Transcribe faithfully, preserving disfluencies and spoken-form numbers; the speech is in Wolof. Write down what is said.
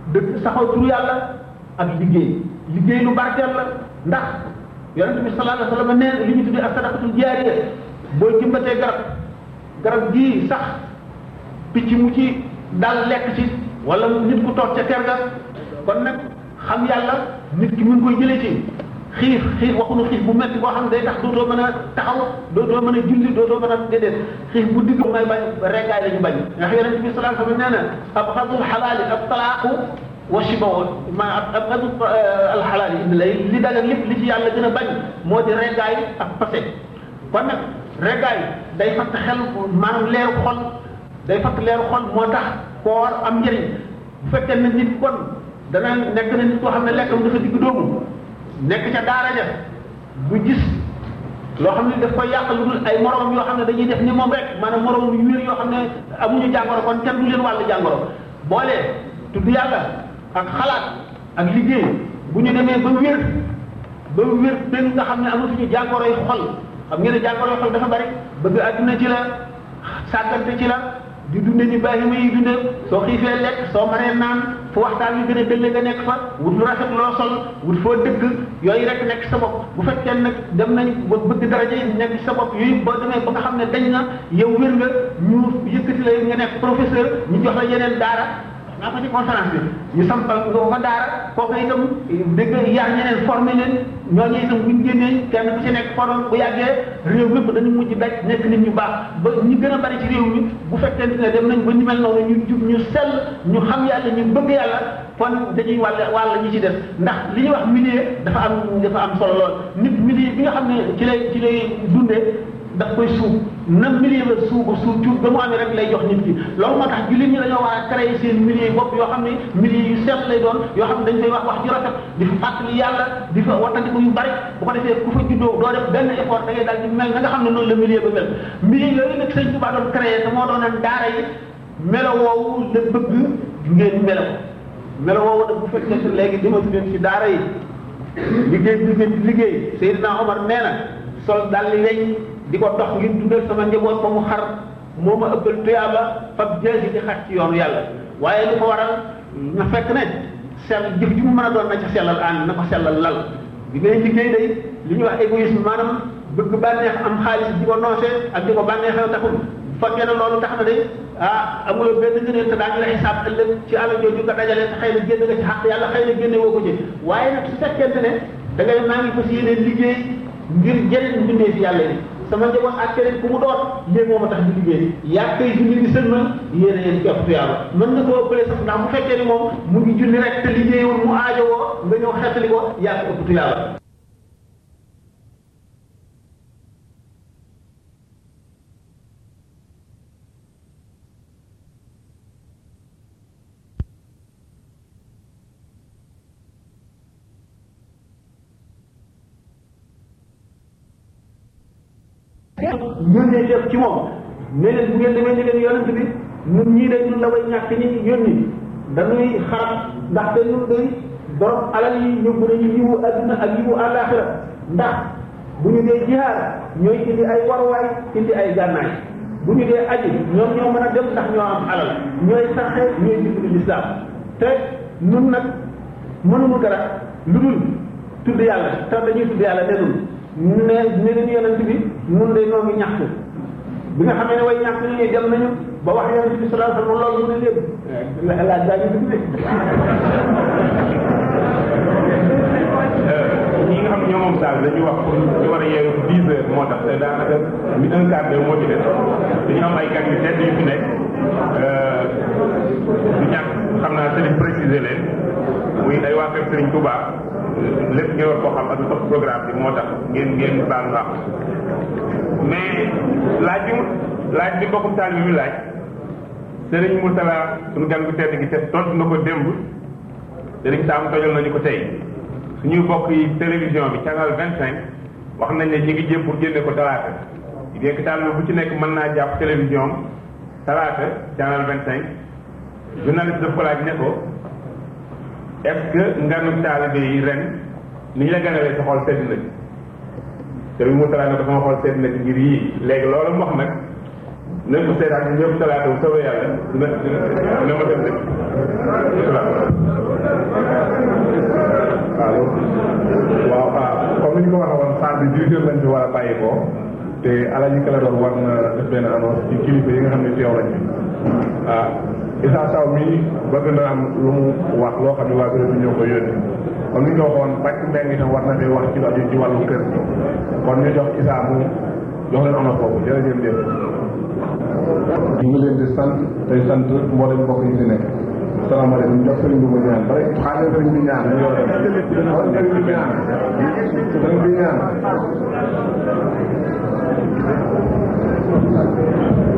dëgg saxoo turu yàlla ak liggéey liggéey lu barkeel la ndax yonent bi sallallahu alayhi wa sallam nee li ñu tuddee ak sadaqatul jaariya boo jëmbatee garab garab gii sax picc mu ci dal lekk ci wala nit ku toog ca kër ga kon nag xam yàlla nit ki mu ngi koy jëlee ci xiif xiif waxuñu xiif bu metti boo xam ne day tax dootoo mën a taxaw dootoo mën a julli dootoo mën a déedéet xiif bu digg may bañ reggaay la ñu bañ ndax yonent bi sallallahu alayhi wa sallam nee na abxadul xalaali ab talaaqu wa shibaw ma abxadul alxalaali indi lay li dagan lépp li ci yàlla gën a bañ moo di reggaay ak passé kon nag reggaay day fatt xel maanaam leeru xol day fatt leeru xol moo tax koor am njëriñ bu fekkee ne nit kon dana nekk na nit koo xam ne lekkam dafa digg doomu nekk ca daara ja bu gis loo xam ne daf koy yàq lu dul ay moromam yoo xam ne dañuy def ni moom rek maanaam moromam yu wér yoo xam ne amuñu jàngoro kon kenn du leen wàllu jàngoro boolee tudd yàlla ak xalaat ak liggéey bu ñu demee ba wér ba wér benn nga xam ne amatuñu jàngoro yi xol xam ngeen ne jàngoro yi xol dafa bari bëgg àdduna ci la sàggante ci la di dunde ni bàyyima yi dunde soo xiifee lekk soo maree naan fu waxtaan yu gën a dëlle nga nekk fa wut lu rafet loo sol wut foo dëkk yooyu rek nekk sa bopp bu fekkee nag dem nañ ba bëgg daraja yi nekk sa bopp yooyu boo demee ba nga xam ne dañ na yow wér nga ñu yëkkati la nga nekk professeur ñu jox la yeneen daara naa ko ci conférence bi ñu sampal nga ko daara kooku itam dégg yar ñeneen formé leen ñooñu itam bu ñu génnee kenn ku ci nekk formé bu yàggee réew mépp dañu mujj daj nekk nit ñu baax ba ñi gën a bari ci réew mi bu fekkente ne dem nañ ba ñu mel noonu ñu jub ñu sell ñu xam yàlla ñu bëgg yàlla kon dañuy wàll wàll ñi ci des ndax li ñuy wax milieu dafa am dafa am solo lool nit milieu bi nga xam ne ci lay ci lay dundee daf koy suuf na milieu ba suuba suuf cuut ba mu amee rek lay jox nit ki loolu moo tax jullit ñi dañoo war a créer seen milieu yi bopp yoo xam ne milieu yu sell lay doon yoo xam ne dañ fay wax wax ju rafet di fa fàttali yàlla di fa wattandi ko yu bari bu ko defee ku fa juddoo doo def benn effort da ngay daal di mel na nga xam ne noonu la milieu ba mel milieu yooyu nag sëñ Tuubaa doon créer te moo doonoon daara yi melo woowu la bëgg ngeen melo ko melo woowu nag bu fekkee léegi dimatu leen ci daara yi liggéey bi ngeen di liggéey Seydina Omar nee na sol dal li weñ di ko dox ngir dundal sama njaboot ba mu xar moo ma ëppal tuyaaba fab jeesi di xaj ci yoonu yàlla waaye li ko waral na fekk ne sell jëf ji mu mën a doon na ca sellal ànd na ko sellal lal bi ngay liggéey day li ñuy wax égoïsme maanaam bëgg bànneex am xaalis di ko noose ak di ko bànneexew taxul bu fekkee ne loolu tax na de ah amuloo benn ngëneel te daañu la xisaab ëllëg ci àll jooju nga dajale te xëy na génn nga ci xaq yàlla xëy na génne woo ko ci waaye nag su fekkente ne da ngay maa ngi fas yéene liggéey ngir jëriñ mbindee fi yàlla yi sama njaboot ak keneen ku mu doon lii moo ma tax di liggéey yaa koy julli di sëlmal yéen a yéen képp tuyaaba mën nga koo ëppale sax ndax bu fekkee ni moom mu ngi julli rek te liggéeyul mu aajowoo nga ñëw xettali ko yaa ko ëpp tuyaaba yónnee def ci moom ne leen bu ngeen demee ni leen yonent bi ñun ñii day ñun la way ñàkk ñi yónni dañuy xarab ndaxte ñun day borom alal yi yóbbu nañu yiwu adduna ak yiwu àllaaxira ndax bu ñu dee jihaar ñooy indi ay warwaay indi ay gànnaay bu ñu dee aji ñoom ñoo mën a dem ndax ñoo am alal ñooy sarxe ñooy dimbali lislaam te nun nag mënuñu dara lu dul tudd yàlla te dañuy tudd yàlla nenul ne ne leen yonent bi nun de noo ngi ñaxtu bi nga xamee ne way ñàkk ñi dem nañu ba wax yonent bi sallallahu alayhi wasallam loolu ne leen laaj daa ñu dugg ñi nga xam ne ñoo moom saal dañuy wax pour ñu war a yeewu dix heures moo tax te daanaka mi un quart d'heure moo ci des dañu am ay gan yu tedd yu fi nekk du ñàkk xam naa sëriñ précisé leen muy ay waa kër sëriñ Touba lépp ngeen war koo xam ak topp programme bi moo tax ngeen ngeen baal nga mais laaj bi laaj bi bokkum taal bi mu laaj sëriñ Mourtala suñu gan gu tedd gi te tontu na ko démb sëriñ Sam tojal nañu ko tey suñuy bokk yi télévision bi canal vingt cinq wax nañ ne ñu ngi jéem pour génne ko talaata bien que taal bu ci nekk mën naa jàpp télévision talaata canal vingt cinq journaliste daf ko laaj ne ko est-ce que nganu taalibe yi ren ni ñu la ganalee sa xol sedd na ci sëriñ Mourtala ne ko sama xol sedd na ci ngir yii léegi loolu mu wax nag nañ ko seetaan ñëpp talaata bu soobee yàlla dina dina dina ma dem de bi dix heures lañ fi war a bàyyi ko te Alaaji Kala doon war na def benn annonce ci kilifa yi nga xam ne teew nañ fi ah Issa Sow mii bëgg na am lu mu wax loo xam ne waa bureau bi ñoo ko yónni comme ni ñu ko waxoon pàcc mbéy mi tam war na fee wax ci aju ci wàllu kër kon ñu jox Issa mu jox leen annonce boobu jërëjëf jëf. ñu ngi leen di sant tey sant mboolem mbokk yi fi nekk. salaamaaleykum jox sëriñ bi mu ñaan bare xaaral sëriñ bi ñaan ñu yor sëriñ bi ñaan sëriñ bi ñaan